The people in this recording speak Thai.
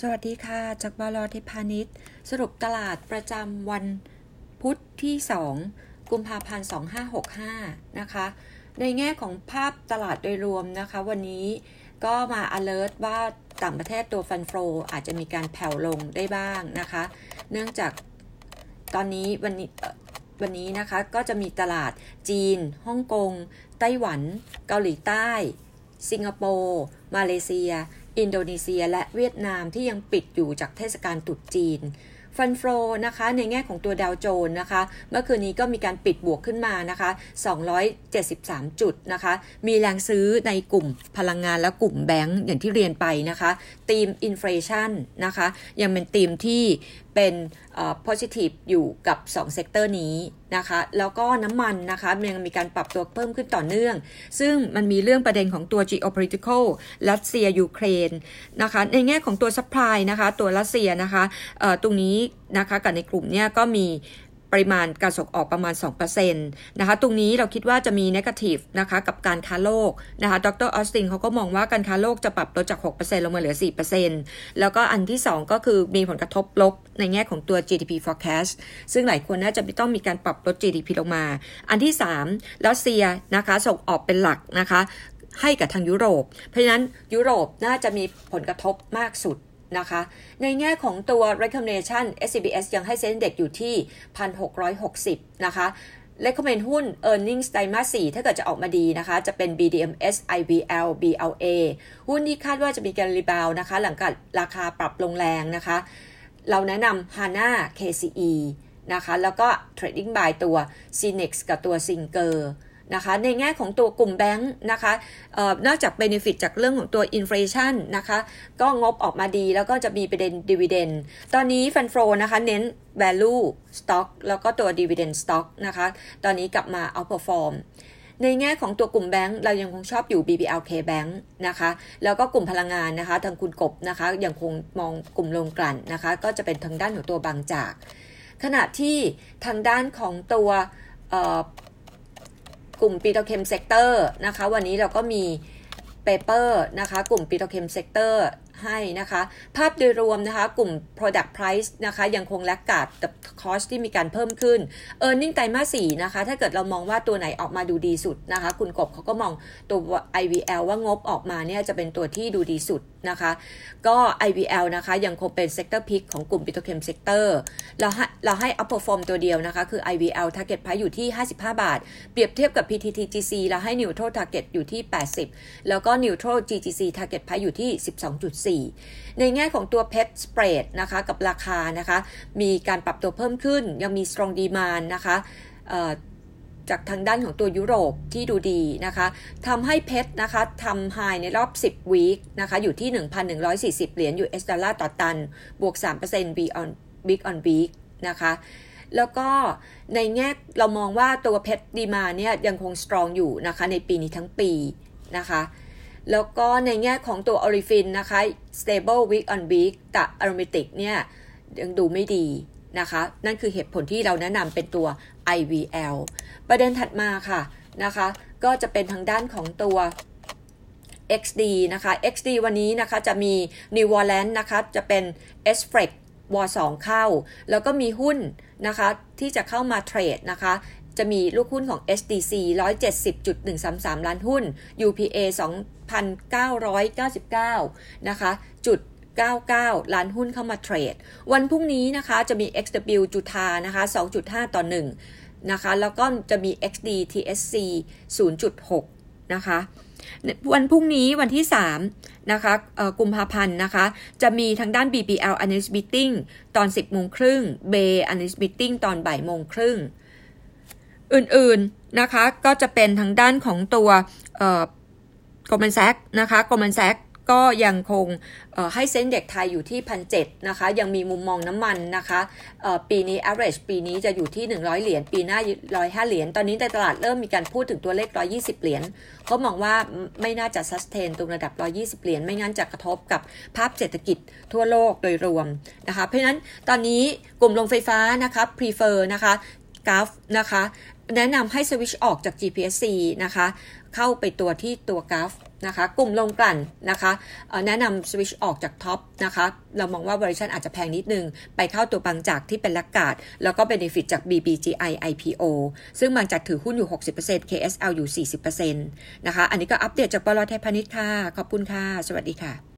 สวัสดีค่ะจากบล.เทพาณิชย์สรุปตลาดประจำวันพุธที่2กุมภาพันธ์2565นะคะในแง่ของภาพตลาดโดยรวมนะคะวันนี้ก็มา alert ว่าต่างประเทศตัวฟันโฟอาจจะมีการแผ่วลงได้บ้างนะคะเนื่องจากตอนนี้วันนี้นะคะก็จะมีตลาดจีนฮ่องกงไต้หวันเกาหลีใต้สิงคโปร์มาเลเซียอินโดนีเซียและเวียดนามที่ยังปิดอยู่จากเทศกาลตรุษจีนฟันโฟนะคะในแง่ของตัวดาวโจนส์นะคะเมื่อคืนนี้ก็มีการปิดบวกขึ้นมานะคะ273จุดนะคะมีแรงซื้อในกลุ่มพลังงานและกลุ่มแบงก์อย่างที่เรียนไปนะคะธีมอินเฟลชันนะคะยังเป็นธีมที่เป็นpositive อยู่กับ2เซกเตอร์นี้นะคะแล้วก็น้ำมันนะคะยังมีการปรับตัวเพิ่มขึ้นต่อเนื่องซึ่งมันมีเรื่องประเด็นของตัว geopolitical รัสเซียยูเครนนะคะในแง่ของตัว supply นะคะตัวรัสเซียนะคะตรงนี้นะคะกับในกลุ่มเนี้ยก็มีปริมาณการส่งออกประมาณ 2% นะคะตรงนี้เราคิดว่าจะมี negative นะคะกับการค้าโลกนะคะดร.ออสตินเขาก็มองว่าการค้าโลกจะปรับลดจาก 6% ลงมาเหลือ 4% แล้วก็อันที่2ก็คือมีผลกระทบลบในแง่ของตัว GDP forecast ซึ่งหลายคนน่าจะต้องมีการปรับลด GDP ลงมาอันที่3รัสเซียนะคะส่งออกเป็นหลักนะคะให้กับทางยุโรปเพราะฉะนั้นยุโรปน่าจะมีผลกระทบมากสุดนะคะในแง่ของตัว recommendation SCBS ยังให้เซ็นเด็กอยู่ที่ 1,660 นะคะ recommend หุ้น earnings ไตรมาส 4ถ้าเกิดจะออกมาดีนะคะจะเป็น BDMs IVL BLA หุ้นที่คาดว่าจะมีการรีบาวนะคะหลังจากราคาปรับลงแรงนะคะเราแนะนำ HANA KCE นะคะแล้วก็ trading by ตัว Cinex กับตัว Singerนะคะในแง่ของตัวกลุ่มแบงค์นะคะนอกจาก benefit จากเรื่องของตัว inflation นะคะก็งบออกมาดีแล้วก็จะมีประเด็น dividend ตอนนี้ฟันโฟนะคะเน้น value stock แล้วก็ตัว dividend stock นะคะตอนนี้กลับมา outperform ในแง่ของตัวกลุ่มแบงค์เรายังคงชอบอยู่ BBLK Bank นะคะแล้วก็กลุ่มพลังงานนะคะทางคุณกบนะคะยังคงมองกลุ่มโรงกลั่นนะคะก็จะเป็นทางด้านของตัวบางจากขณะที่ทางด้านของตัวกลุ่มปิโตรเคมเซกเตอร์นะคะวันนี้เราก็มีเปเปอร์นะคะกลุ่มปิโตรเคมเซกเตอร์ให้นะคะภาพโดยรวมนะคะกลุ่ม product price นะคะยังคงแลกขาดกับ cost ที่มีการเพิ่มขึ้น earning ไตรมาส 4นะคะถ้าเกิดเรามองว่าตัวไหนออกมาดูดีสุดนะคะคุณกบเขาก็มองตัว IVL ว่างบออกมาเนี่ยจะเป็นตัวที่ดูดีสุดนะคะก็ IVL นะคะยังคงเป็น sector pick ของกลุ่ม Petrochem sector เราให้ outperform ตัวเดียวนะคะคือ IVL target price อยู่ที่55 บาทเปรียบเทียบกับ PTTGC เราให้ neutral target อยู่ที่80แล้วก็ neutral GGC target price อยู่ที่ 12.4 ในแง่ของตัว PET spread นะคะกับราคานะคะมีการปรับตัวเพิ่มขึ้นยังมี strong demand นะคะจากทางด้านของตัวยุโรปที่ดูดีนะคะทำให้เพชรนะคะทำไฮในรอบ10 วีคนะคะอยู่ที่ 1,140 เหรียญ US ดอลลาร์ต่อตันบวก 3% week on week นะคะแล้วก็ในแง่เรามองว่าตัวเพชรดีมาเนี่ยยังคง strong อยู่นะคะในปีนี้ทั้งปีนะคะแล้วก็ในแง่ของตัว Olefin นะคะ stable week on week แต่ Aromatic เนี่ยยังดูไม่ดีนะคะนั่นคือเหตุผลที่เราแนะนำเป็นตัว IVL ประเด็นถัดมาค่ะนะคะก็จะเป็นทางด้านของตัว XD นะคะ XD วันนี้นะคะจะมี New Warland นะคะจะเป็น SFREX W2 เข้าแล้วก็มีหุ้นนะคะที่จะเข้ามาเทรดนะคะจะมีลูกหุ้นของ SDC 170.133 ล้านหุ้น UPA 2,999 นะคะ99 ล้านหุ้นเข้ามาเทรดวันพรุ่งนี้นะคะจะมี XW จุฑานะคะ 2.5 ต่อ 1นะคะแล้วก็จะมี XD TSC 0.6 นะคะวันพรุ่งนี้วันที่3นะคะกุมภาพันธ์นะคะจะมีทางด้าน BBL Analyst Meeting ตอน 10:30 น. Bay Analyst Meeting ตอน 14:30 น. อื่นๆนะคะก็จะเป็นทางด้านของตัวGoldman Sachs นะคะ Goldman Sachs ก็ยังคงให้เซ็นเด็กไทยอยู่ที่ 1,700 นะคะยังมีมุมมองน้ำมันนะคะปีนี้ average ปีนี้จะอยู่ที่100 เหรียญปีหน้า105 เหรียญตอนนี้ในตลาดเริ่มมีการพูดถึงตัวเลข120 เหรียญเขามองว่าไม่น่าจะ sustain ตรงระดับ120 เหรียญไม่งั้นจะกระทบกับภาพเศรษฐกิจทั่วโลกโดยรวมนะคะเพราะฉะนั้นตอนนี้กลุ่มโรงไฟฟ้านะคะ prefer นะคะ Gulf นะคะแนะนำให้สวิตช์ออกจาก GPSC นะคะเข้าไปตัวที่ตัวกราฟนะคะกลุ่มลงกลั่นนะคะแนะนำสวิตช์ออกจากท็อปนะคะเรามองว่า valuation อาจจะแพงนิดนึงไปเข้าตัวบางจากที่เป็นแลกการ์ดแล้วก็ benefit จาก BBGI IPO ซึ่งบางจากถือหุ้นอยู่ 60% KSL อยู่ 40% นะคะอันนี้ก็อัปเดตจากบล.ไทยพาณิชย์ค่ะขอบคุณค่ะสวัสดีค่ะ